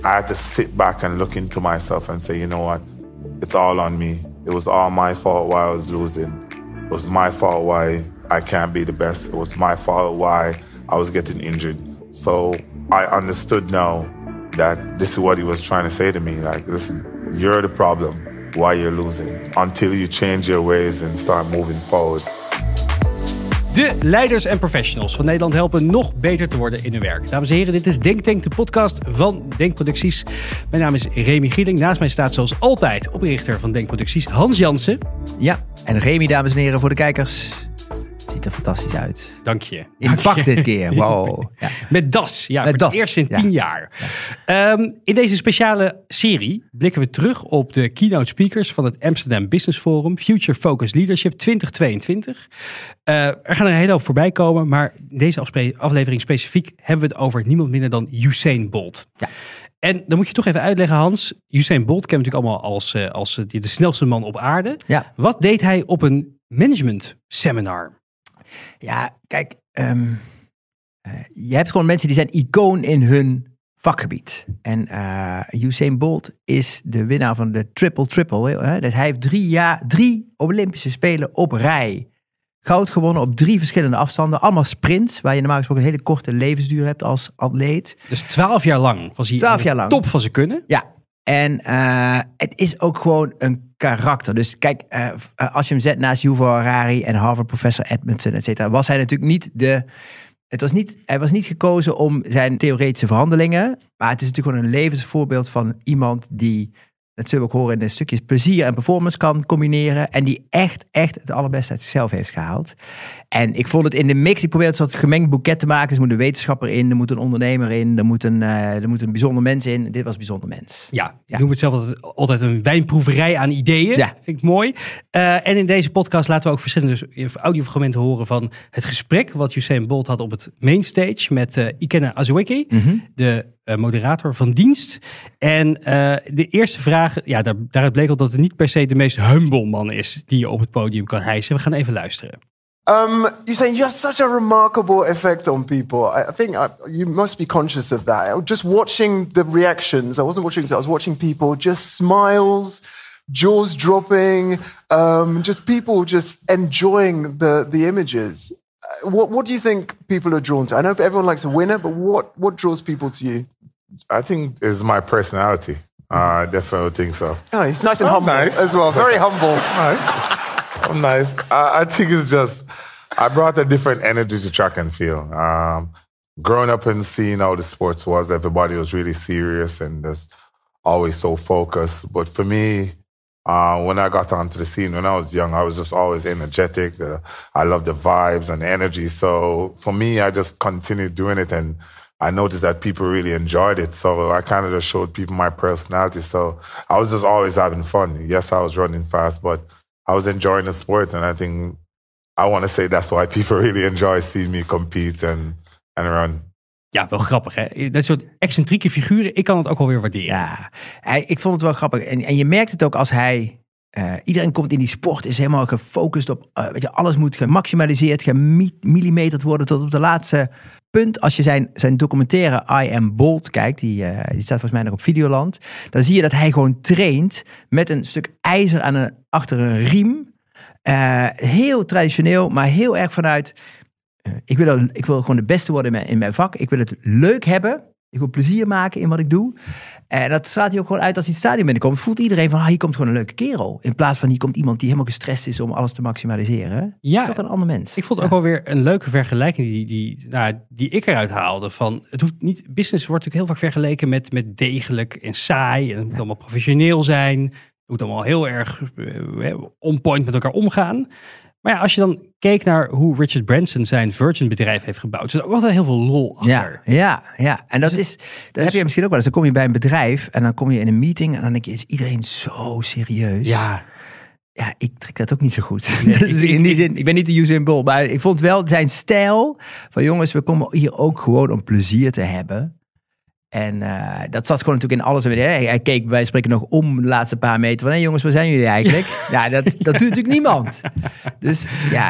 I had to sit back and look into myself and say, you know what? It's all on me. It was all my fault why I was losing. It was my fault why I can't be the best. It was my fault why I was getting injured. So I understood now that this is what he was trying to say to me. Like, listen, you're the problem why you're losing. Until you change your ways and start moving forward. De leiders en professionals van Nederland helpen nog beter te worden in hun werk. Dames en heren, dit is Denk Tank, de podcast van Denkproducties. Mijn naam is Remy Gieling. Naast mij staat zoals altijd oprichter van Denkproducties, Hans Jansen. Ja, en Remy, dames en heren, voor de kijkers. Ziet er fantastisch uit. Dank je. In pak dit keer, wow. Ja. Met das, ja, Met voor das. het eerst in 10 jaar. Ja. In deze speciale serie blikken we terug op de keynote speakers van het Amsterdam Business Forum, Future Focus Leadership 2022. Er gaan er een hele hoop voorbij komen, maar in deze aflevering specifiek hebben we het over niemand minder dan Usain Bolt. Ja. En dan moet je toch even uitleggen, Hans. Usain Bolt kennen we natuurlijk allemaal als de snelste man op aarde. Ja. Wat deed hij op een management seminar? Ja, kijk, je hebt gewoon mensen die zijn icoon in hun vakgebied. En Usain Bolt is de winnaar van de triple. Dus hij heeft 3 Olympische Spelen op rij goud gewonnen op 3 verschillende afstanden. Allemaal sprints, waar je normaal gesproken een hele korte levensduur hebt als atleet. Dus 12 jaar lang was hij aan de top van zijn kunnen. Ja, en het is ook gewoon een karakter. Dus kijk, als je hem zet naast Yuval Harari en Harvard professor Edmondson, et cetera, was hij natuurlijk niet hij was niet gekozen om zijn theoretische verhandelingen, maar het is natuurlijk gewoon een levensvoorbeeld van iemand die, dat zullen we ook horen in de stukjes, plezier en performance kan combineren en die echt het allerbeste uit zichzelf heeft gehaald. En ik vond het in de mix, ik probeerde een soort gemengd boeket te maken. Er moet een wetenschapper in, er moet een ondernemer in, er moet een bijzonder mens in. Dit was een bijzonder mens. Ja, ik noem het zelf altijd een wijnproeverij aan ideeën. Ja. Vind ik mooi. En in deze podcast laten we ook verschillende audiofragmenten horen van het gesprek wat Usain Bolt had op het mainstage met Ikenna Azueke, de moderator van dienst. En de eerste vraag, ja, daaruit bleek al dat het niet per se de meest humble man is die je op het podium kan hijsen. We gaan even luisteren. Usain, you have such a remarkable effect on people. I think you must be conscious of that. Just watching the reactions, I wasn't watching, I was watching people, just smiles, jaws dropping, just people just enjoying the images. What do you think people are drawn to? I know everyone likes a winner, but what draws people to you? I think it's my personality. I definitely think so. Oh, he's nice and humble as well. Very humble. Nice. Oh, nice. I think it's just, I brought a different energy to track and field. Growing up and seeing how the sports was, everybody was really serious and just always so focused. But for me, when I got onto the scene, when I was young, I was just always energetic. I loved the vibes and the energy. So for me, I just continued doing it and I noticed that people really enjoyed it. So I kind of just showed people my personality. So I was just always having fun. Yes, I was running fast, but I was enjoying the sport. And I think, I want to say that's why people really enjoy seeing me compete and run. Ja, wel grappig hè. Dat soort excentrieke figuren, ik kan het ook wel weer waarderen. Ja, ik vond het wel grappig. En je merkt het ook als hij... iedereen komt in die sport, is helemaal gefocust op... alles moet gemaximaliseerd, gemillimeterd worden tot op de laatste punt. Als je zijn documentaire I Am Bold kijkt, die staat volgens mij nog op Videoland, dan zie je dat hij gewoon traint met een stuk ijzer achter een riem. Heel traditioneel, maar heel erg vanuit... Ik wil gewoon de beste worden in mijn vak. Ik wil het leuk hebben. Ik wil plezier maken in wat ik doe. En dat straalt hij ook gewoon uit als hij het stadion binnenkomt. Voelt iedereen van, hier komt gewoon een leuke kerel. In plaats van, hier komt iemand die helemaal gestrest is om alles te maximaliseren. Ja, toch een ander mens. Ik vond ook wel weer een leuke vergelijking die ik eruit haalde. Van, het hoeft niet, business wordt natuurlijk heel vaak vergeleken met degelijk en saai. En het moet allemaal professioneel zijn. Het moet allemaal heel erg on point met elkaar omgaan. Maar ja, als je dan keek naar hoe Richard Branson zijn Virgin bedrijf heeft gebouwd, er is ook altijd heel veel lol achter. Ja. En dat heb je misschien ook wel eens. Dan kom je bij een bedrijf en dan kom je in een meeting en dan denk je, is iedereen zo serieus? Ja, ik trek dat ook niet zo goed. Nee, dus in die zin, ik ben niet de Usain Bolt, maar ik vond wel zijn stijl van jongens, we komen hier ook gewoon om plezier te hebben. En dat zat gewoon natuurlijk in alles. Hij keek bij wijze van spreken nog om de laatste paar meter. Van, jongens, waar zijn jullie eigenlijk? Ja, dat doet natuurlijk niemand. Dus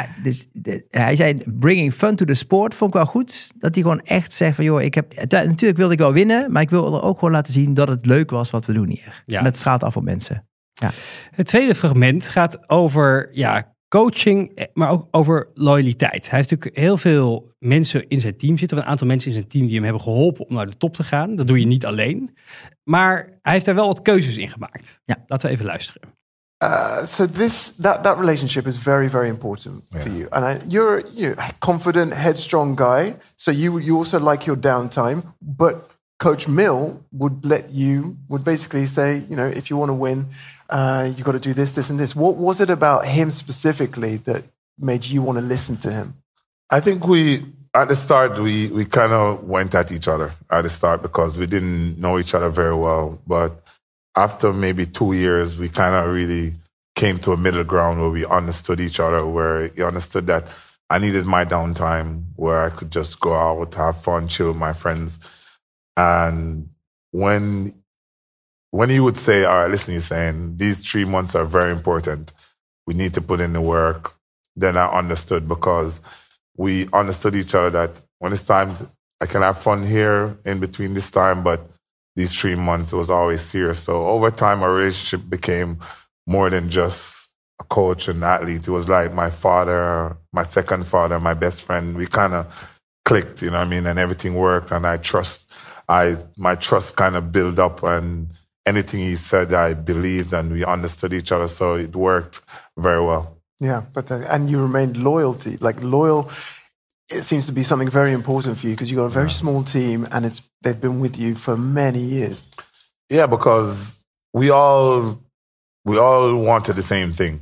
hij zei, bringing fun to the sport, vond ik wel goed. Dat hij gewoon echt zegt van, joh, natuurlijk wilde ik wel winnen. Maar ik wil er ook gewoon laten zien dat het leuk was wat we doen hier. Ja. En dat straalt af op mensen. Ja. Het tweede fragment gaat over coaching, maar ook over loyaliteit. Hij heeft natuurlijk heel veel mensen in zijn team zitten. Of een aantal mensen in zijn team die hem hebben geholpen om naar de top te gaan. Dat doe je niet alleen. Maar hij heeft daar wel wat keuzes in gemaakt. Ja. Laten we even luisteren. So that relationship is very, very important for you. And you're a confident, headstrong guy. So you also like your downtime. But Coach Mill would basically say, if you want to win, you got to do this, and this. What was it about him specifically that made you want to listen to him? I think at the start, we kind of went at each other at the start because we didn't know each other very well. But after maybe 2 years, we kind of really came to a middle ground where we understood each other, where he understood that I needed my downtime, where I could just go out, have fun, chill with my friends. And when he would say, all right, listen, he's saying, these 3 months are very important. We need to put in the work. Then I understood because we understood each other that when it's time, I can have fun here in between this time, but these 3 months, it was always serious. So over time, our relationship became more than just a coach and athlete. It was like my father, my second father, my best friend. We kind of clicked, and everything worked. And my trust kind of built up, and anything he said, I believed, and we understood each other. So it worked very well. Yeah, and you remained loyal. It seems to be something very important for you because you got a very small team, and they've been with you for many years. Yeah, because we all wanted the same thing.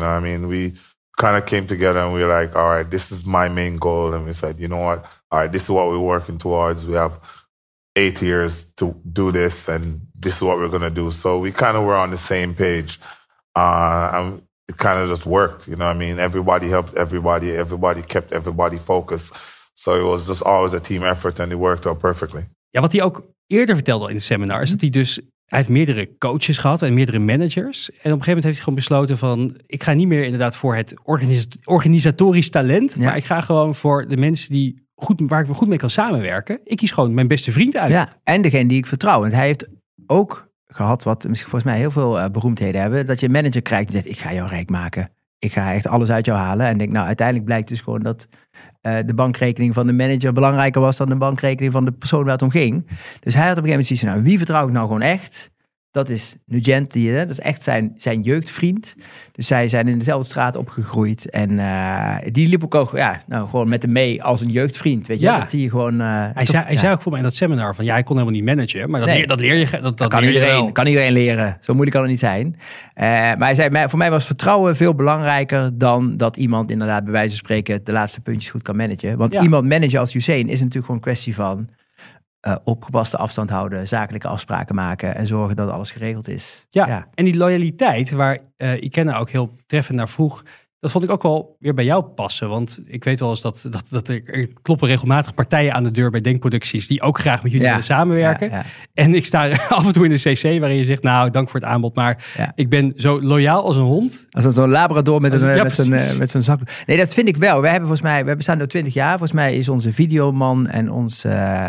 We kind of came together and we were like, all right, this is my main goal, and we said, you know what? All right, this is what we're working towards. We have 8 years to do this, and this is what we're going to do. So we kind of were on the same page. And it kind of just worked, Everybody helped everybody. Everybody kept everybody focused. So it was just always a team effort, and it worked out perfectly. Ja, wat hij ook eerder vertelde in het seminar is dat hij heeft meerdere coaches gehad en meerdere managers. En op een gegeven moment heeft hij gewoon besloten van, ik ga niet meer inderdaad voor het organisatorisch talent, maar ik ga gewoon voor de mensen waar ik goed mee kan samenwerken. Ik kies gewoon mijn beste vriend uit. Ja, en degene die ik vertrouw. Want hij heeft ook gehad, wat misschien volgens mij heel veel beroemdheden hebben, dat je een manager krijgt die zegt, ik ga jou rijk maken. Ik ga echt alles uit jou halen. En denk, uiteindelijk blijkt dus gewoon dat de bankrekening van de manager belangrijker was dan de bankrekening van de persoon waar het om ging. Dus hij had op een gegeven moment zoiets van, wie vertrouw ik nou gewoon echt? Dat is Nugent, dat is echt zijn jeugdvriend. Dus zij zijn in dezelfde straat opgegroeid. En die liep ook gewoon met hem mee als een jeugdvriend. Weet je, dat zie je gewoon. Hij zei ook voor mij in dat seminar van, hij kon helemaal niet managen. Maar dat leer je. Dat kan iedereen leren. Zo moeilijk kan het niet zijn. Maar hij zei, voor mij was vertrouwen veel belangrijker dan dat iemand inderdaad bij wijze van spreken de laatste puntjes goed kan managen. Want iemand managen als Usain is natuurlijk gewoon een kwestie van opgepaste afstand houden, zakelijke afspraken maken en zorgen dat alles geregeld is. Ja. En die loyaliteit waar Ikenna ook heel treffend naar vroeg, dat vond ik ook wel weer bij jou passen. Want ik weet wel eens dat er kloppen regelmatig partijen aan de deur bij Denkproducties die ook graag met jullie willen samenwerken. Ja. En ik sta af en toe in de CC waarin je zegt, dank voor het aanbod, maar ik ben zo loyaal als een hond. Als zo'n labrador met zo'n zakdoek. Nee, dat vind ik wel. We bestaan nu 20 jaar. Volgens mij is onze videoman en ons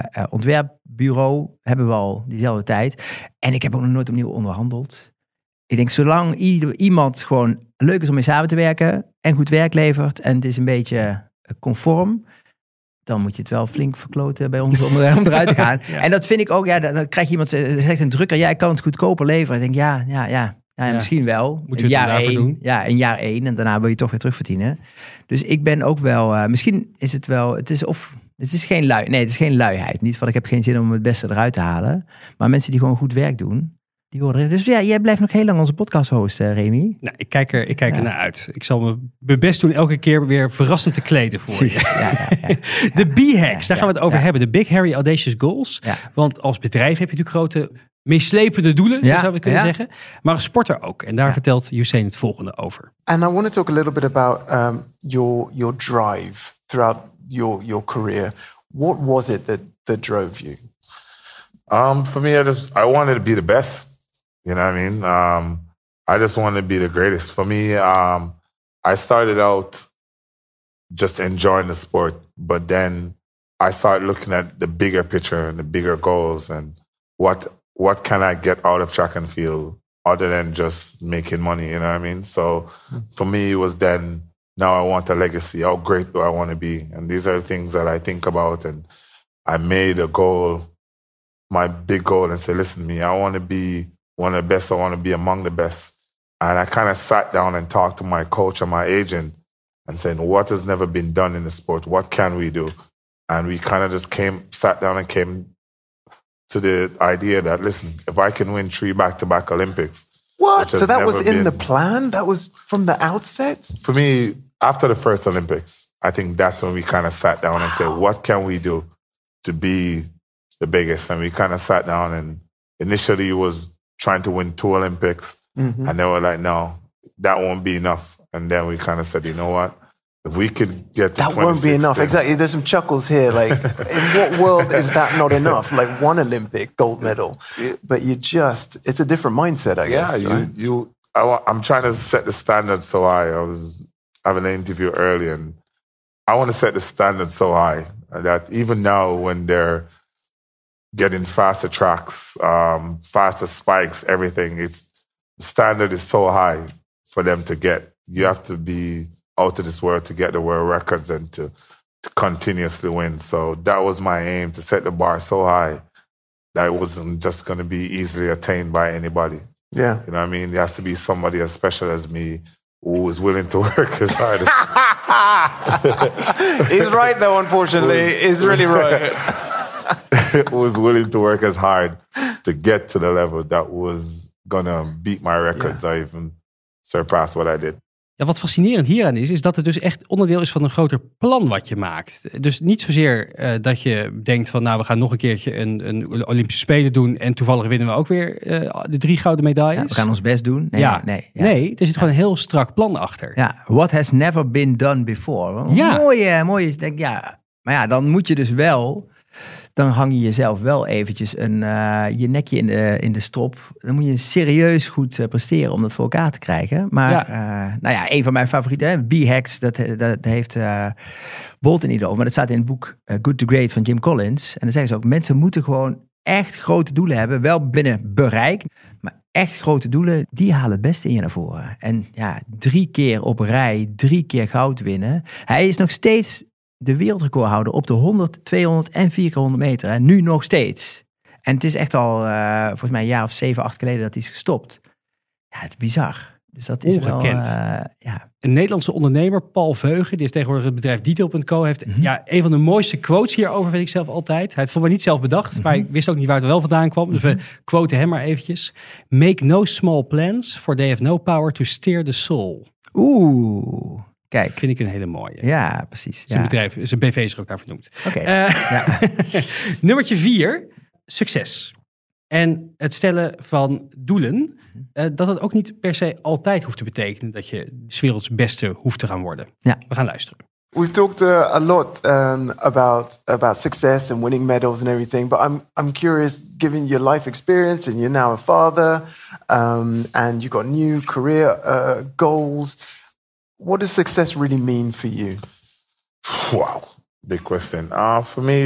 ontwerpbureau hebben we al diezelfde tijd. En ik heb ook nog nooit opnieuw onderhandeld. Ik denk, zolang iemand gewoon leuk is om mee samen te werken en goed werk levert en het is een beetje conform, dan moet je het wel flink verkloten bij ons om eruit te gaan. En dat vind ik ook, dan krijg je iemand, zegt een drukker, ik kan het goedkoper leveren. Ik denk, misschien wel. Moet je het daarvoor doen? Ja, in jaar 1 en daarna wil je toch weer terugverdienen. Dus ik ben ook wel, misschien is het wel, het is geen luiheid. Niet van, ik heb geen zin om het beste eruit te halen. Maar mensen die gewoon goed werk doen, die worden. Dus jij blijft nog heel lang onze podcast host, Remy. Nou, ik kijk er naar uit. Ik zal mijn best doen elke keer weer verrassend te kleden voor je. De B-hacks, daar gaan we het over hebben. De Big Hairy Audacious Goals. Ja. Want als bedrijf heb je natuurlijk grote meeslepende doelen, zo zouden we kunnen zeggen. Maar als sporter ook. En daar vertelt Usain het volgende over. And I want to talk a little bit about your drive throughout your career. What was it that drove you? For me, I wanted to be the best. You know what I mean? I just wanted to be the greatest. For me, I started out just enjoying the sport, but then I started looking at the bigger picture and the bigger goals and what can I get out of track and field other than just making money, you know what I mean? So for me, it was then, now I want a legacy. How great do I want to be? And these are the things that I think about. And I made a goal, my big goal, and say, listen, I want to be one of the best. I want to be among the best. And I kind of sat down and talked to my coach and my agent and saying, what has never been done in the sport? What can we do? And we kind of just sat down and came to the idea that, listen, if I can win 3 back-to-back Olympics. What? So that was in the plan? That was from the outset? For me, after the first Olympics, I think that's when we kind of sat down and said, what can we do to be the biggest? And we kind of sat down, and initially it was trying to win 2 Olympics. Mm-hmm. And they were like, no, that won't be enough. And then we kind of said, you know what? If we could get to that won't be enough. Exactly. There's some chuckles here. Like, in what world is that not enough? Like 1 Olympic gold medal, but it's a different mindset, I guess. Yeah, I'm trying to set the standard so high. I was having an interview earlier, and I want to set the standard so high that even now when they're getting faster tracks, faster spikes, everything, the standard is so high for them to get. You have to be out of this world to get the world records and to continuously win. So that was my aim, to set the bar so high that it wasn't just going to be easily attained by anybody. Yeah. You know what I mean? There has to be somebody as special as me who is willing to work as hard as... He's right, though, unfortunately. He's really right. Who was willing to work as hard to get to the level that was going to beat my records or even surpass what I did. Ja, wat fascinerend hieraan is dat het dus echt onderdeel is van een groter plan wat je maakt. Dus niet zozeer dat je denkt van, nou, we gaan nog een keertje een Olympische Spelen doen en toevallig winnen we ook weer de 3 gouden medailles. Ja, we gaan ons best doen. Nee, er zit gewoon een heel strak plan achter. Ja, what has never been done before. Ja. Mooi. Denk, ja. Maar ja, dan moet je dus wel... Dan hang je jezelf wel eventjes je nekje in de strop. Dan moet je serieus goed presteren om dat voor elkaar te krijgen. Maar een van mijn favorieten, B-Hacks, dat heeft Bolton niet over. Maar dat staat in het boek Good to Great van Jim Collins. En dan zeggen ze ook, mensen moeten gewoon echt grote doelen hebben. Wel binnen bereik, maar echt grote doelen, die halen het beste in je naar voren. En ja, 3 keer op rij, 3 keer goud winnen. Hij is nog steeds... de wereldrecordhouder op de 100, 200 en 400 meter. En nu nog steeds. En het is echt al volgens mij een jaar of 7, 8 geleden dat hij is gestopt. Ja, het is bizar. Dus dat is ongekend. Wel... Een Nederlandse ondernemer, Paul Veugen, die heeft tegenwoordig het bedrijf Detail.co, heeft een van de mooiste quotes hierover, vind ik zelf altijd. Hij heeft het voor mij niet zelf bedacht, maar ik wist ook niet waar het wel vandaan kwam. Dus we quoten hem maar eventjes. Make no small plans, for they have no power to steer the soul. Oeh... Kijk. Vind ik een hele mooie. Ja, precies. Zijn bedrijf, zijn BV is er ook naar vernoemd. Okay. Nummertje 4, succes. En het stellen van doelen, dat het ook niet per se altijd hoeft te betekenen dat je 's werelds beste hoeft te gaan worden. Ja. We gaan luisteren. We've talked a lot about success and winning medals and everything, but I'm curious, given your life experience and you're now a father, and you've got new career goals. What does success really mean for you? Wow, big question. For me,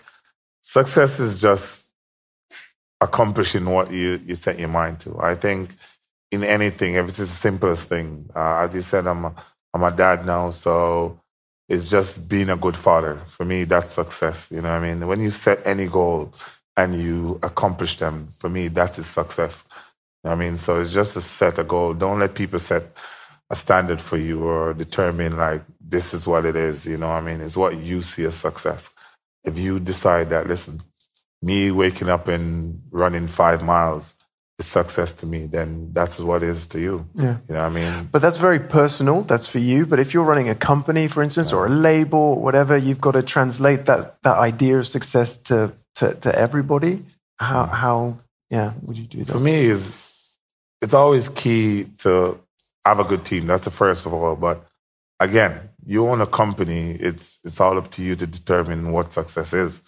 success is just accomplishing what you set your mind to. I think in anything, if it's the simplest thing, as you said, I'm a dad now, so it's just being a good father. For me, that's success. You know what I mean? When you set any goal and you accomplish them, for me, that is success. You know what I mean? So it's just to set a goal. Don't let people set a standard for you or determine like this is what it is, you know what I mean? It's what you see as success. If you decide that, listen, me waking up and running 5 miles is success to me, then that's what it is to you. Yeah. You know what I mean? But that's very personal, that's for you. But if you're running a company, for instance, or a label or whatever, you've got to translate that idea of success to everybody. How would you do that? For me, it's always key to have a good team. That's the first of all. But again, you own a company. It's all up to you to determine what success is.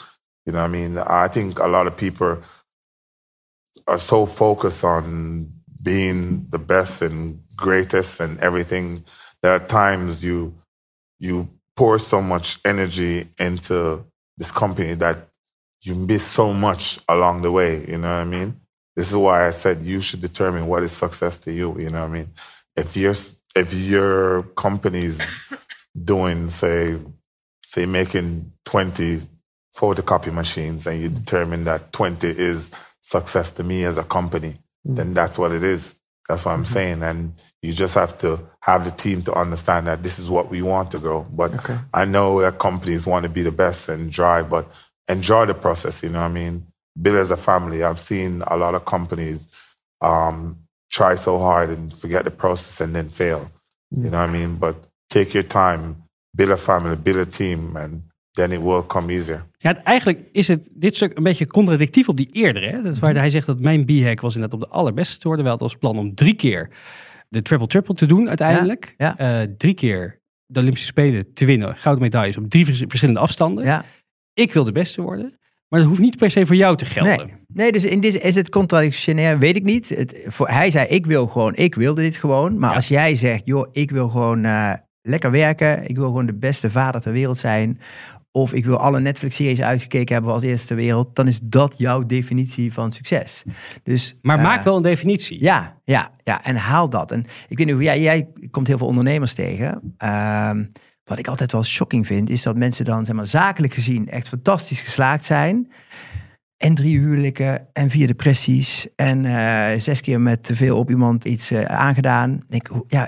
You know what I mean? I think a lot of people are so focused on being the best and greatest and everything that at times you pour so much energy into this company that you miss so much along the way, you know what I mean? This is why I said you should determine what is success to you, you know what I mean? If your company's doing, say making 20 photocopy machines and you determine that 20 is success to me as a company, then that's what it is. That's what I'm saying. And you just have to have the team to understand that this is what we want to grow. But I know that companies want to be the best and drive, but enjoy the process, you know what I mean? Build as a family. I've seen a lot of companies try so hard and forget the process and then fail. You know what I mean? But take your time, build a family, build a team, and then it will come easier. Ja, eigenlijk is dit stuk een beetje contradictief op die eerdere. Hè? Dat is waar hij zegt dat mijn B-hack was inderdaad op de allerbeste te worden. Wel het als plan om 3 keer de triple-triple te doen uiteindelijk. Ja. 3 keer de Olympische Spelen te winnen. Gouden medailles op 3 verschillende afstanden. Ja. Ik wil de beste worden. Maar dat hoeft niet per se voor jou te gelden. Nee, dus in dit is het contradictionair, weet ik niet. Hij zei, ik wilde dit gewoon. Maar als jij zegt, joh, ik wil gewoon lekker werken. Ik wil gewoon de beste vader ter wereld zijn. Of ik wil alle Netflix-series uitgekeken hebben als eerste ter wereld. Dan is dat jouw definitie van succes. Dus, maar maak wel een definitie. Ja, en haal dat. En ik weet niet hoe jij komt heel veel ondernemers tegen. Wat ik altijd wel shocking vind, is dat mensen dan, zeg maar, zakelijk gezien echt fantastisch geslaagd zijn. En 3 huwelijken en 4 depressies en 6 keer met te veel op iemand iets aangedaan. Denk,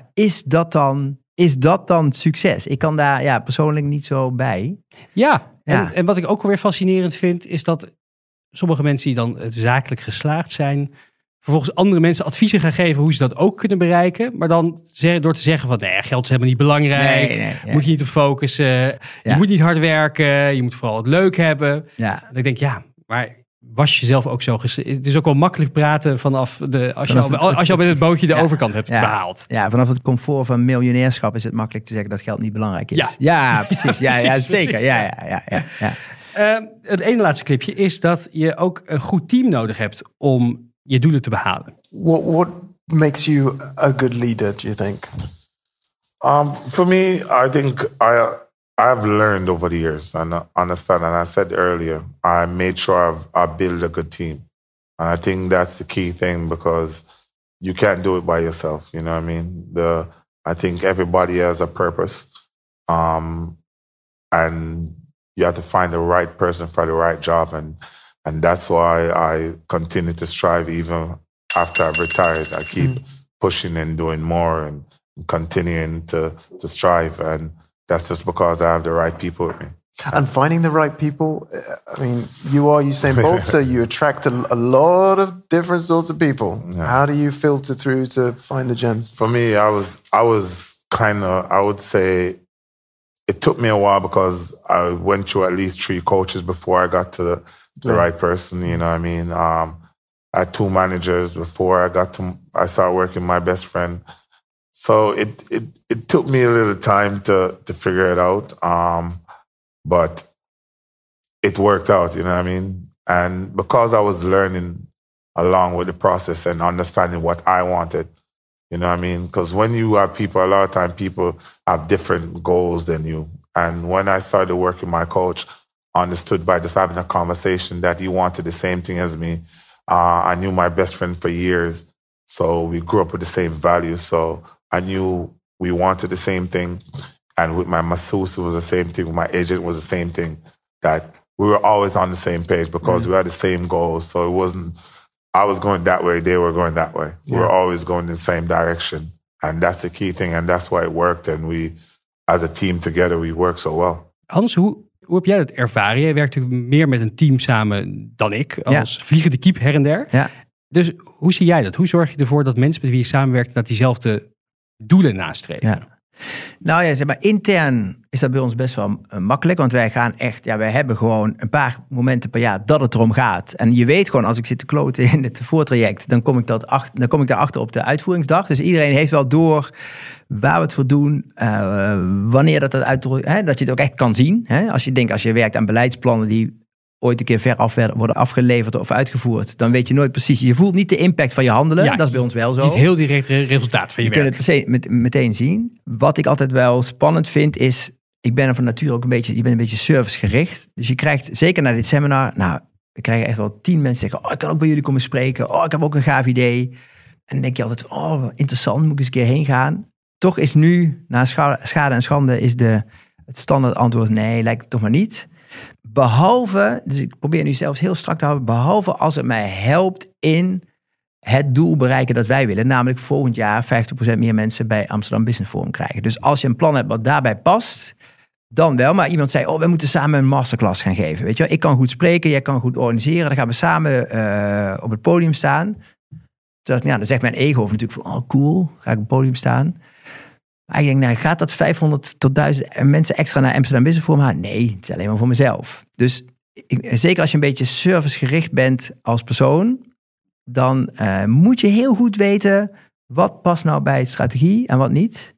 is dat dan succes? Ik kan daar persoonlijk niet zo bij. Ja. En wat ik ook alweer fascinerend vind, is dat sommige mensen die dan zakelijk geslaagd zijn, vervolgens andere mensen adviezen gaan geven hoe ze dat ook kunnen bereiken. Maar dan door te zeggen van, nee, geld is helemaal niet belangrijk. Nee. Moet je niet op focussen. Je moet niet hard werken. Je moet vooral het leuk hebben. Ja. En ik denk, maar was je zelf ook zo... Het is ook wel makkelijk praten vanaf als je al met het bootje de overkant hebt behaald. Ja, vanaf het comfort van miljonairschap is het makkelijk te zeggen dat geld niet belangrijk is. Ja, precies. Ja, zeker. Ja. Het ene laatste clipje is dat je ook een goed team nodig hebt om je doelen te behalen. What makes you a good leader, do you think? For me, I think I've learned over the years and understand, and I said earlier, I made sure I build a good team. And I think that's the key thing because you can't do it by yourself, you know what I mean? I think everybody has a purpose. And you have to find the right person for the right job. And that's why I continue to strive even after I've retired. I keep pushing and doing more and continuing to strive. And that's just because I have the right people with me. And finding the right people, I mean, you are Usain Bolt, so you attract a lot of different sorts of people. Yeah. How do you filter through to find the gems? For me, I was kind of, I would say, it took me a while because I went through at least 3 coaches before I got to the right person, you know what I mean? I had 2 managers before I started working with my best friend. So it took me a little time to figure it out. But it worked out, you know what I mean? And because I was learning along with the process and understanding what I wanted, you know what I mean? Because when you have people, a lot of time people have different goals than you. And when I started working, my coach understood by just having a conversation that he wanted the same thing as me. I knew my best friend for years, so we grew up with the same values. So I knew we wanted the same thing. And with my masseuse, it was the same thing. With my agent, it was the same thing. That we were always on the same page because we had the same goals. So it wasn't, I was going that way, they were going that way. We were always going in the same direction. And that's the key thing. And that's why it worked. And we, as a team together, we work so well. Hans, hoe heb jij dat ervaren? Jij werkt natuurlijk meer met een team samen dan ik. Als vliegende kiep her en der. Ja. Dus hoe zie jij dat? Hoe zorg je ervoor dat mensen met wie je samenwerkt dat diezelfde doelen nastreven? Ja. Nou ja, zeg maar, intern is dat bij ons best wel makkelijk. Want wij gaan echt, wij hebben gewoon een paar momenten per jaar dat het erom gaat. En je weet gewoon, als ik zit te kloten in het voortraject, dan kom ik daarachter op de uitvoeringsdag. Dus iedereen heeft wel door waar we het voor doen, wanneer dat je het ook echt kan zien. Hè? Als je werkt aan beleidsplannen die ooit een keer veraf worden afgeleverd of uitgevoerd, dan weet je nooit precies. Je voelt niet de impact van je handelen. Ja, dat is bij ons wel zo. Niet heel direct resultaat van je werk. Je kunt het meteen zien. Wat ik altijd wel spannend vind is, ik ben er van nature ook je bent een beetje servicegericht. Dus je krijgt, zeker na dit seminar, we krijgen echt wel 10 mensen zeggen, ik kan ook bij jullie komen spreken. Ik heb ook een gaaf idee. En dan denk je altijd, interessant, moet ik eens een keer heen gaan. Toch is nu, na schade en schande, is het standaard antwoord, nee, lijkt het toch maar niet. Behalve, dus ik probeer nu zelfs heel strak te houden, behalve als het mij helpt in het doel bereiken dat wij willen. Namelijk volgend jaar 50% meer mensen bij Amsterdam Business Forum krijgen. Dus als je een plan hebt wat daarbij past, dan wel. Maar iemand zei, we moeten samen een masterclass gaan geven. Weet je wel? Ik kan goed spreken, jij kan goed organiseren. Dan gaan we samen op het podium staan. Dan zegt mijn ego natuurlijk van, cool, ga ik op het podium staan. Maar ik denk, gaat dat 500 tot 1000 mensen extra naar Amsterdam Business Forum halen? Nee, het is alleen maar voor mezelf. Dus zeker als je een beetje servicegericht bent als persoon, dan moet je heel goed weten wat past nou bij strategie en wat niet.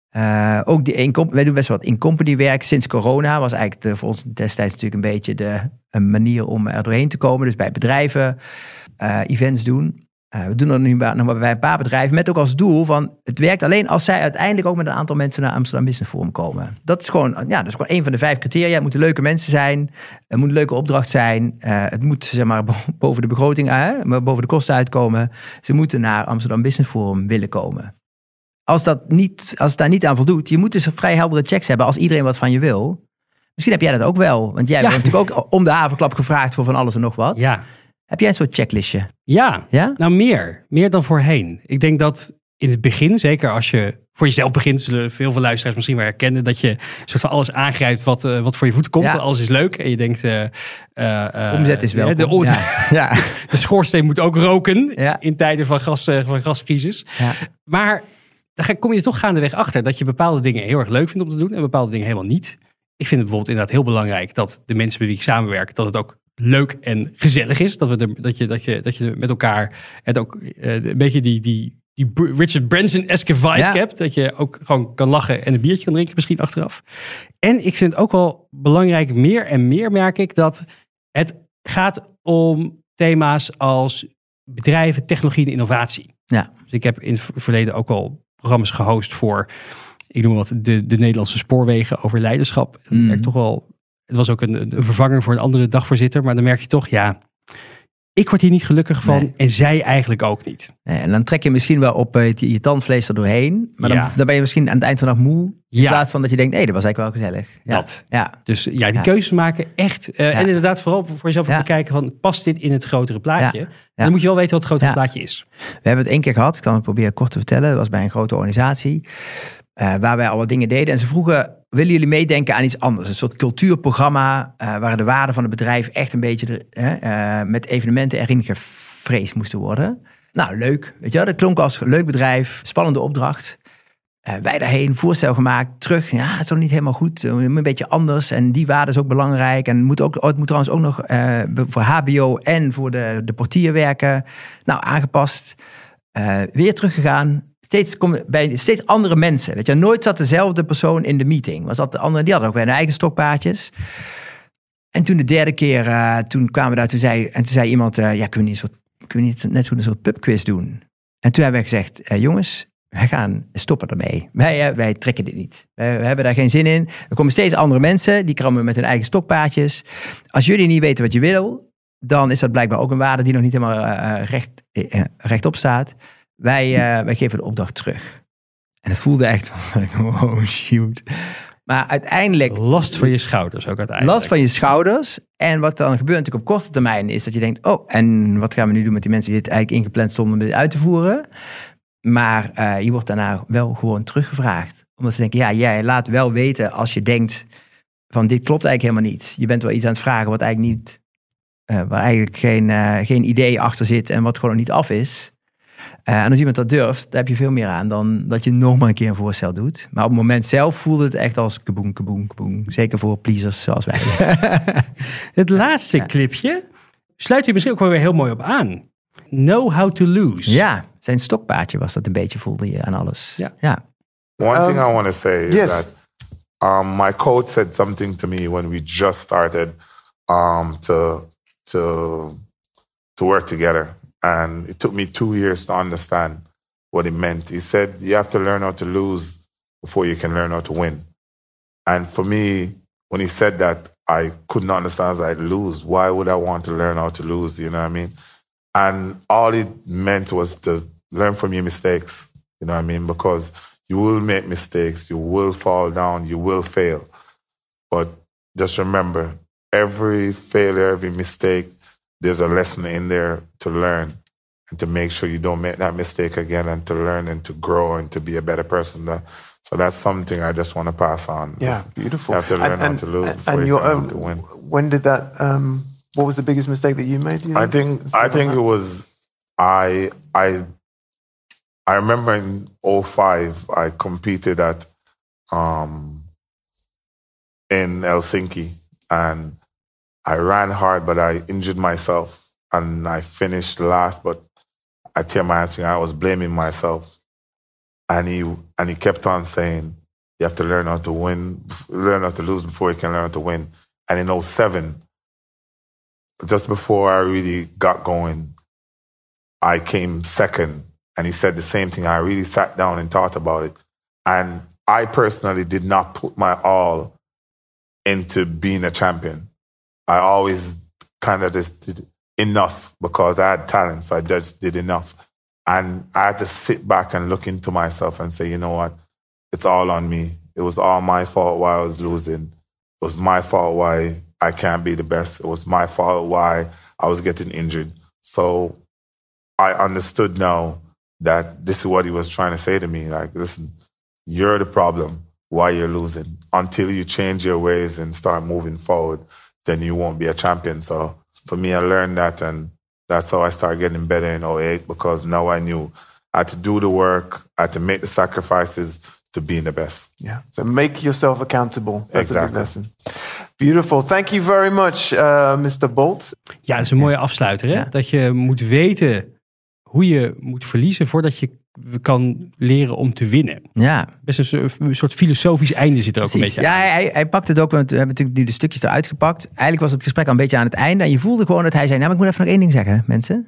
Ook wij doen best wel wat in-company werk. Sinds corona was eigenlijk voor ons destijds natuurlijk een beetje een manier om er doorheen te komen. Dus bij bedrijven events doen. We doen dat nu nog bij een paar bedrijven met ook als doel van het werkt alleen als zij uiteindelijk ook met een aantal mensen naar Amsterdam Business Forum komen. Dat is gewoon een van de 5 criteria. Het moeten leuke mensen zijn. Het moet een leuke opdracht zijn. Het moet zeg maar boven de begroting, boven de kosten uitkomen. Ze moeten naar Amsterdam Business Forum willen komen. Als het daar niet aan voldoet, je moet dus vrij heldere checks hebben als iedereen wat van je wil. Misschien heb jij dat ook wel, want jij bent natuurlijk ook om de havenklap gevraagd voor van alles en nog wat. Ja. Heb jij een soort checklistje? Ja? Nou meer dan voorheen. Ik denk dat in het begin, zeker als je voor jezelf begint, zullen veel luisteraars misschien wel herkennen dat je soort van alles aangrijpt wat voor je voeten komt. Ja. Alles is leuk en je denkt... omzet is welkom. De schoorsteen moet ook roken in tijden van gascrisis. Ja. Maar dan kom je er toch gaandeweg achter dat je bepaalde dingen heel erg leuk vindt om te doen en bepaalde dingen helemaal niet. Ik vind het bijvoorbeeld inderdaad heel belangrijk dat de mensen met wie ik samenwerk, dat het ook leuk en gezellig is. Dat je met elkaar het ook een beetje die Richard Branson-eske vibe hebt. Dat je ook gewoon kan lachen en een biertje kan drinken misschien achteraf. En ik vind het ook wel belangrijk, meer en meer merk ik, dat het gaat om thema's als bedrijven, technologie en innovatie. Ja. Dus ik heb in het verleden ook al programma's gehost voor, ik noem wat, de Nederlandse spoorwegen over leiderschap. En merk toch wel, het was ook een vervanger voor een andere dagvoorzitter. Maar dan merk je toch, ik word hier niet gelukkig van. Nee. En zij eigenlijk ook niet. Nee, en dan trek je misschien wel op je tandvlees er doorheen. Maar dan ben je misschien aan het eind van de dag moe. In plaats van dat je denkt, dat was eigenlijk wel gezellig. Ja. Dat. Ja. Dus die keuzes maken echt. En inderdaad vooral voor jezelf bekijken van, past dit in het grotere plaatje? En dan moet je wel weten wat het grotere plaatje is. We hebben het 1 keer gehad. Ik kan het proberen kort te vertellen. Dat was bij een grote organisatie. Waar wij al wat dingen deden. En ze vroegen, willen jullie meedenken aan iets anders? Een soort cultuurprogramma waar de waarden van het bedrijf echt een beetje met evenementen erin gevreesd moesten worden. Nou, leuk. Weet je wel? Dat klonk als leuk bedrijf, spannende opdracht. Wij daarheen, voorstel gemaakt, terug. Ja, het is toch niet helemaal goed. Een beetje anders. En die waarden is ook belangrijk. En het moet trouwens ook nog voor HBO en voor de portier werken. Nou, aangepast. Weer teruggegaan. Steeds andere mensen. Weet je, nooit zat dezelfde persoon in de meeting. Was dat de andere? Die hadden ook weer hun eigen stokpaardjes. En toen de 3e keer, toen kwamen we daar, toen zei iemand, kunnen we niet net zo een soort pubquiz doen? En toen hebben we gezegd, jongens, wij gaan stoppen ermee. Wij trekken dit niet. We hebben daar geen zin in. Er komen steeds andere mensen, die komen met hun eigen stokpaardjes. Als jullie niet weten wat je wil, dan is dat blijkbaar ook een waarde die nog niet helemaal rechtop staat. Wij geven de opdracht terug. En het voelde echt, oh shoot. Maar uiteindelijk... Last van je schouders ook uiteindelijk. Last van je schouders. En wat dan gebeurt natuurlijk op korte termijn is dat je denkt, en wat gaan we nu doen met die mensen die dit eigenlijk ingepland stonden om dit uit te voeren? Maar je wordt daarna wel gewoon teruggevraagd. Omdat ze denken, jij laat wel weten als je denkt van dit klopt eigenlijk helemaal niet. Je bent wel iets aan het vragen wat eigenlijk niet, waar eigenlijk geen idee achter zit en wat gewoon nog niet af is. En als iemand dat durft, daar heb je veel meer aan dan dat je nog maar een keer een voorstel doet. Maar op het moment zelf voelde het echt als kaboom, kaboom, kaboom. Zeker voor pleasers zoals wij. Het laatste clipje sluit je misschien ook wel weer heel mooi op aan. Know how to lose. Ja, zijn stokpaardje was dat een beetje, voelde je aan alles. Ja. One thing I want to say is that my coach said something to me when we just started to work together. And it took me 2 years to understand what it meant. He said, you have to learn how to lose before you can learn how to win. And for me, when he said that, I couldn't understand I'd lose. Why would I want to learn how to lose? You know what I mean? And all it meant was to learn from your mistakes. You know what I mean? Because you will make mistakes. You will fall down. You will fail. But just remember, every failure, every mistake, there's a lesson in there to learn and to make sure you don't make that mistake again and to learn and to grow and to be a better person. So that's something I just want to pass on. Yeah, beautiful. You have to learn how to lose before you can learn to win. When did that, what was the biggest mistake that you made? I think it was, I remember in 2005, I competed at in Helsinki, and I ran hard, but I injured myself, and I finished last, but I tear my hamstring. I was blaming myself, and he kept on saying, you have to learn how to win, learn how to lose before you can learn how to win. And in 2007, just before I really got going, I came second, and he said the same thing. I really sat down and thought about it, and I personally did not put my all into being a champion. I always kind of just did enough because I had talent, so I just did enough. And I had to sit back and look into myself and say, you know what? It's all on me. It was all my fault why I was losing. It was my fault why I can't be the best. It was my fault why I was getting injured. So I understood now that this is what he was trying to say to me. Like, listen, you're the problem why you're losing. Until you change your ways and start moving forward, then you won't be a champion. So for me, I learned that, and that's how I started getting better in 2008, because now I knew I had to do the work, I had to make the sacrifices to being the best. Yeah, so make yourself accountable. That's exactly. a big lesson. Beautiful. Thank you very much, Mr. Bolt. Ja, dat is een mooie afsluiter. Hè? Ja. Dat je moet weten hoe je moet verliezen voordat je kan leren om te winnen. Ja, Best een soort filosofisch einde zit er ook precies. een beetje aan. Ja, hij pakt het ook, want we hebben natuurlijk nu de stukjes eruit gepakt. Eigenlijk was het gesprek al een beetje aan het einde. En je voelde gewoon dat hij zei, nou, maar ik moet even nog één ding zeggen, mensen.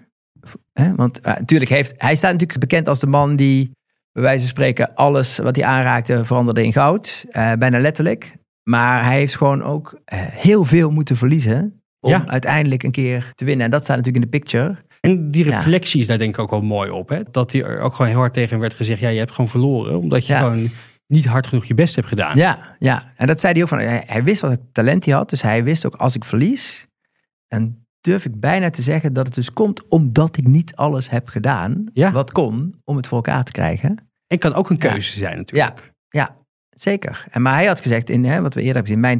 Want natuurlijk hij staat natuurlijk bekend als de man die, bij wijze van spreken, alles wat hij aanraakte veranderde in goud. Bijna letterlijk. Maar hij heeft gewoon ook heel veel moeten verliezen om uiteindelijk een keer te winnen. En dat staat natuurlijk in de picture. En die reflectie is daar denk ik ook wel mooi op. Hè? Dat hij er ook gewoon heel hard tegen hem werd gezegd, ja, je hebt gewoon verloren. Omdat je gewoon niet hard genoeg je best hebt gedaan. Ja. En dat zei hij ook van, hij wist wat talent hij had. Dus hij wist ook, als ik verlies, dan durf ik bijna te zeggen dat het dus komt omdat ik niet alles heb gedaan wat kon om het voor elkaar te krijgen. En kan ook een keuze zijn natuurlijk. Ja, zeker. Maar hij had gezegd, wat we eerder hebben gezien,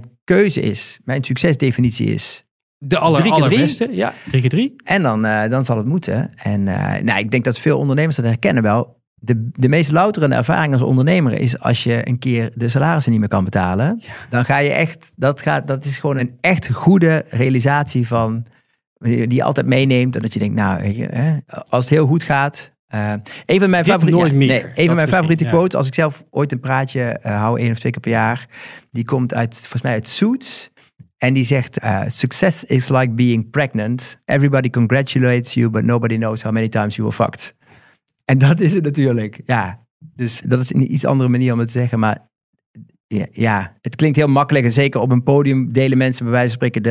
mijn succesdefinitie is de allerbeste. Ja, 3x3. En dan zal het moeten. En ik denk dat veel ondernemers dat herkennen wel. De meest louterende ervaring als ondernemer is als je een keer de salarissen niet meer kan betalen. Ja. Dan ga je echt, dat is gewoon een echt goede realisatie van, die je altijd meeneemt. En dat je denkt, nou, weet je, als het heel goed gaat. Een van mijn favoriete quotes, als ik zelf ooit een praatje hou 1 of 2 keer per jaar. Die komt volgens mij uit Suits. En die zegt, success is like being pregnant. Everybody congratulates you, but nobody knows how many times you were fucked. En dat is het natuurlijk, ja. Dus dat is een iets andere manier om het te zeggen. Maar ja, het klinkt heel makkelijk. En zeker op een podium delen mensen bij wijze van spreken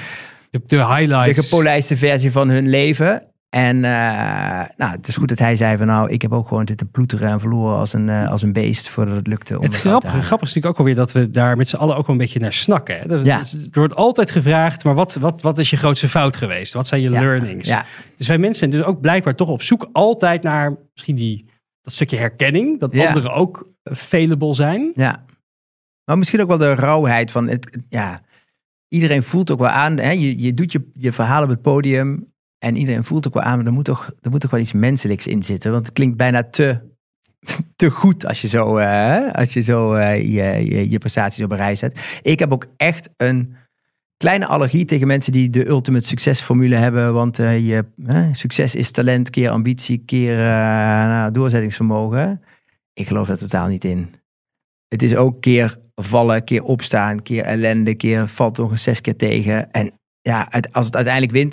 de highlights. De gepolijste versie van hun leven. En het is goed dat hij zei van, nou, ik heb ook gewoon zitten ploeteren en verloren als een beest voordat het lukte. Het grappige is natuurlijk ook alweer dat we daar met z'n allen ook wel een beetje naar snakken. Hè? Er wordt altijd gevraagd, maar wat is je grootste fout geweest? Wat zijn je learnings? Ja. Dus wij mensen zijn dus ook blijkbaar toch op zoek altijd naar misschien dat stukje herkenning. Dat anderen ook failable zijn. Ja, maar misschien ook wel de rauwheid van het. Ja, iedereen voelt ook wel aan. Hè? Je doet je verhaal op het podium. En iedereen voelt ook wel aan, maar er moet toch wel iets menselijks in zitten. Want het klinkt bijna te goed als je zo je prestaties op een rij zet. Ik heb ook echt een kleine allergie tegen mensen die de ultimate succesformule hebben. Want succes is talent, keer ambitie, keer doorzettingsvermogen. Ik geloof daar totaal niet in. Het is ook keer vallen, keer opstaan, keer ellende, keer valt nog eens 6 keer tegen. En als het uiteindelijk wint,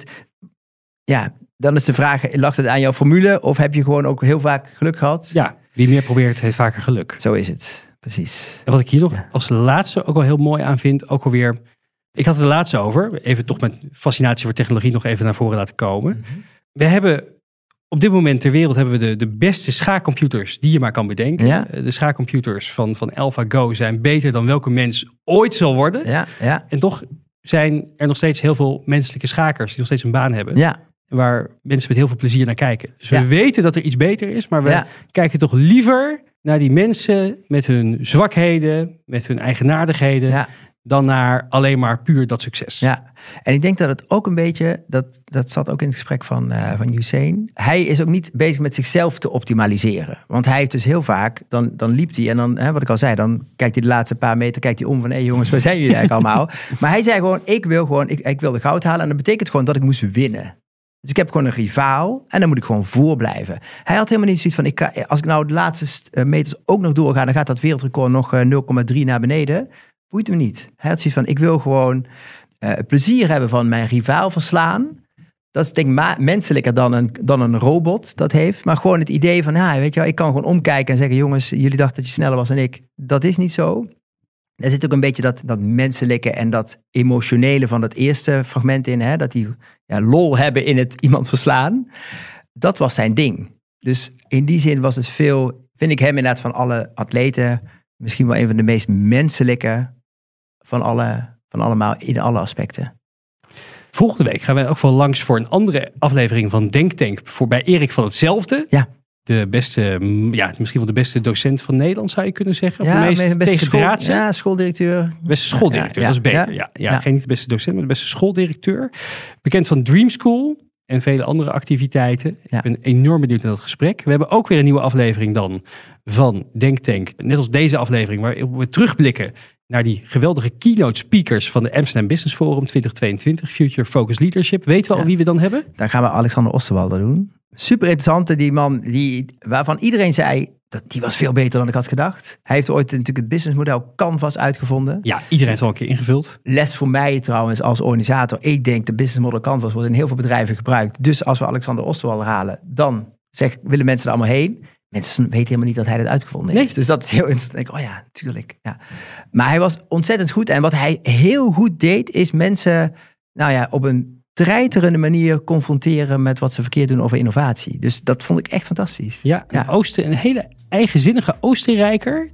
dan is de vraag, lag het aan jouw formule of heb je gewoon ook heel vaak geluk gehad? Ja, wie meer probeert heeft vaker geluk. Zo is het, precies. En wat ik hier nog als laatste ook wel heel mooi aan vind, ook alweer, ik had het er laatst over, even toch met fascinatie voor technologie nog even naar voren laten komen. Mm-hmm. We hebben op dit moment ter wereld hebben we de beste schaakcomputers die je maar kan bedenken. Ja. De schaakcomputers van AlphaGo zijn beter dan welke mens ooit zal worden. Ja. En toch zijn er nog steeds heel veel menselijke schakers die nog steeds een baan hebben. Ja. Waar mensen met heel veel plezier naar kijken. Dus we weten dat er iets beter is, maar we kijken toch liever naar die mensen met hun zwakheden, met hun eigenaardigheden, dan naar alleen maar puur dat succes. Ja, en ik denk dat het ook een beetje, dat zat ook in het gesprek van Usain. Hij is ook niet bezig met zichzelf te optimaliseren. Want hij heeft dus heel vaak, dan liep hij en dan, wat ik al zei, dan kijkt hij de laatste paar meter, kijkt hij om van, jongens, waar zijn jullie eigenlijk allemaal? Maar hij zei gewoon, ik wil de goud halen en dat betekent gewoon dat ik moest winnen. Dus ik heb gewoon een rivaal en dan moet ik gewoon voor blijven. Hij had helemaal niet zoiets van, als ik nou de laatste meters ook nog doorga, dan gaat dat wereldrecord nog 0,3 naar beneden. Boeit hem niet. Hij had zoiets van, ik wil gewoon het plezier hebben van mijn rivaal verslaan. Dat is denk ik menselijker dan een robot dat heeft. Maar gewoon het idee van, weet je wel, ik kan gewoon omkijken en zeggen, jongens, jullie dachten dat je sneller was dan ik. Dat is niet zo. Er zit ook een beetje dat menselijke en dat emotionele van dat eerste fragment in. Dat die lol hebben in het iemand verslaan. Dat was zijn ding. Dus in die zin was het vind ik hem inderdaad van alle atleten misschien wel een van de meest menselijke van allemaal in alle aspecten. Volgende week gaan wij ook wel langs voor een andere aflevering van Denktank. Bij Erik van Hetzelfde. Ja. De beste, misschien wel de beste docent van Nederland zou je kunnen zeggen. Ja, of de beste schooldirecteur. Beste schooldirecteur, dat is beter. Ja. Geen niet de beste docent, maar de beste schooldirecteur. Bekend van Dream School en vele andere activiteiten. Ja. Ik ben enorm benieuwd naar dat gesprek. We hebben ook weer een nieuwe aflevering dan van Denktank. Net als deze aflevering, waar we terugblikken naar die geweldige keynote speakers van de Amsterdam Business Forum 2022. Future Focus Leadership. Weten we al wie we dan hebben? Dan gaan we Alexander Osterwalder doen. Super interessante, die man waarvan iedereen zei dat die was veel beter dan ik had gedacht. Hij heeft ooit natuurlijk het businessmodel Canvas uitgevonden. Ja, iedereen heeft al een keer ingevuld. Les voor mij trouwens als organisator. Ik denk de businessmodel Canvas wordt in heel veel bedrijven gebruikt. Dus als we Alexander Osterwalder halen, dan willen mensen er allemaal heen. Mensen weten helemaal niet dat hij dat uitgevonden heeft. Dus dat is heel interessant. Oh ja, tuurlijk. Ja. Maar hij was ontzettend goed. En wat hij heel goed deed, is mensen op een treiterende manier confronteren met wat ze verkeerd doen over innovatie. Dus dat vond ik echt fantastisch. Ja. Een hele eigenzinnige Oostenrijker.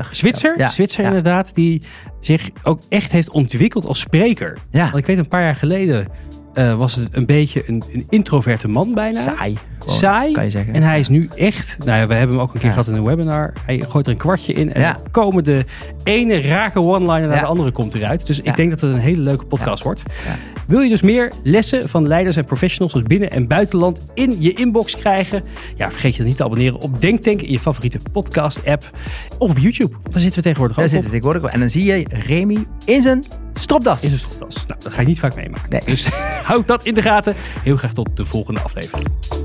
Zwitser inderdaad. Die zich ook echt heeft ontwikkeld als spreker. Ja. Want ik weet een paar jaar geleden was het een beetje een introverte man bijna. Saai, kan je zeggen. En hij is nu echt, we hebben hem ook een keer gehad in een webinar. Hij gooit er een kwartje in en dan komen de ene rake one-liner naar de andere komt eruit. Dus ik denk dat het een hele leuke podcast wordt. Ja. Wil je dus meer lessen van leiders en professionals als binnen- en buitenland in je inbox krijgen? Ja, vergeet je dan niet te abonneren op Denktank in je favoriete podcast app of op YouTube. Daar zitten we tegenwoordig ook op. En dan zie je Remy in zijn stropdas. Nou, dat ga je niet vaak meemaken. Nee. Dus houd dat in de gaten. Heel graag tot de volgende aflevering.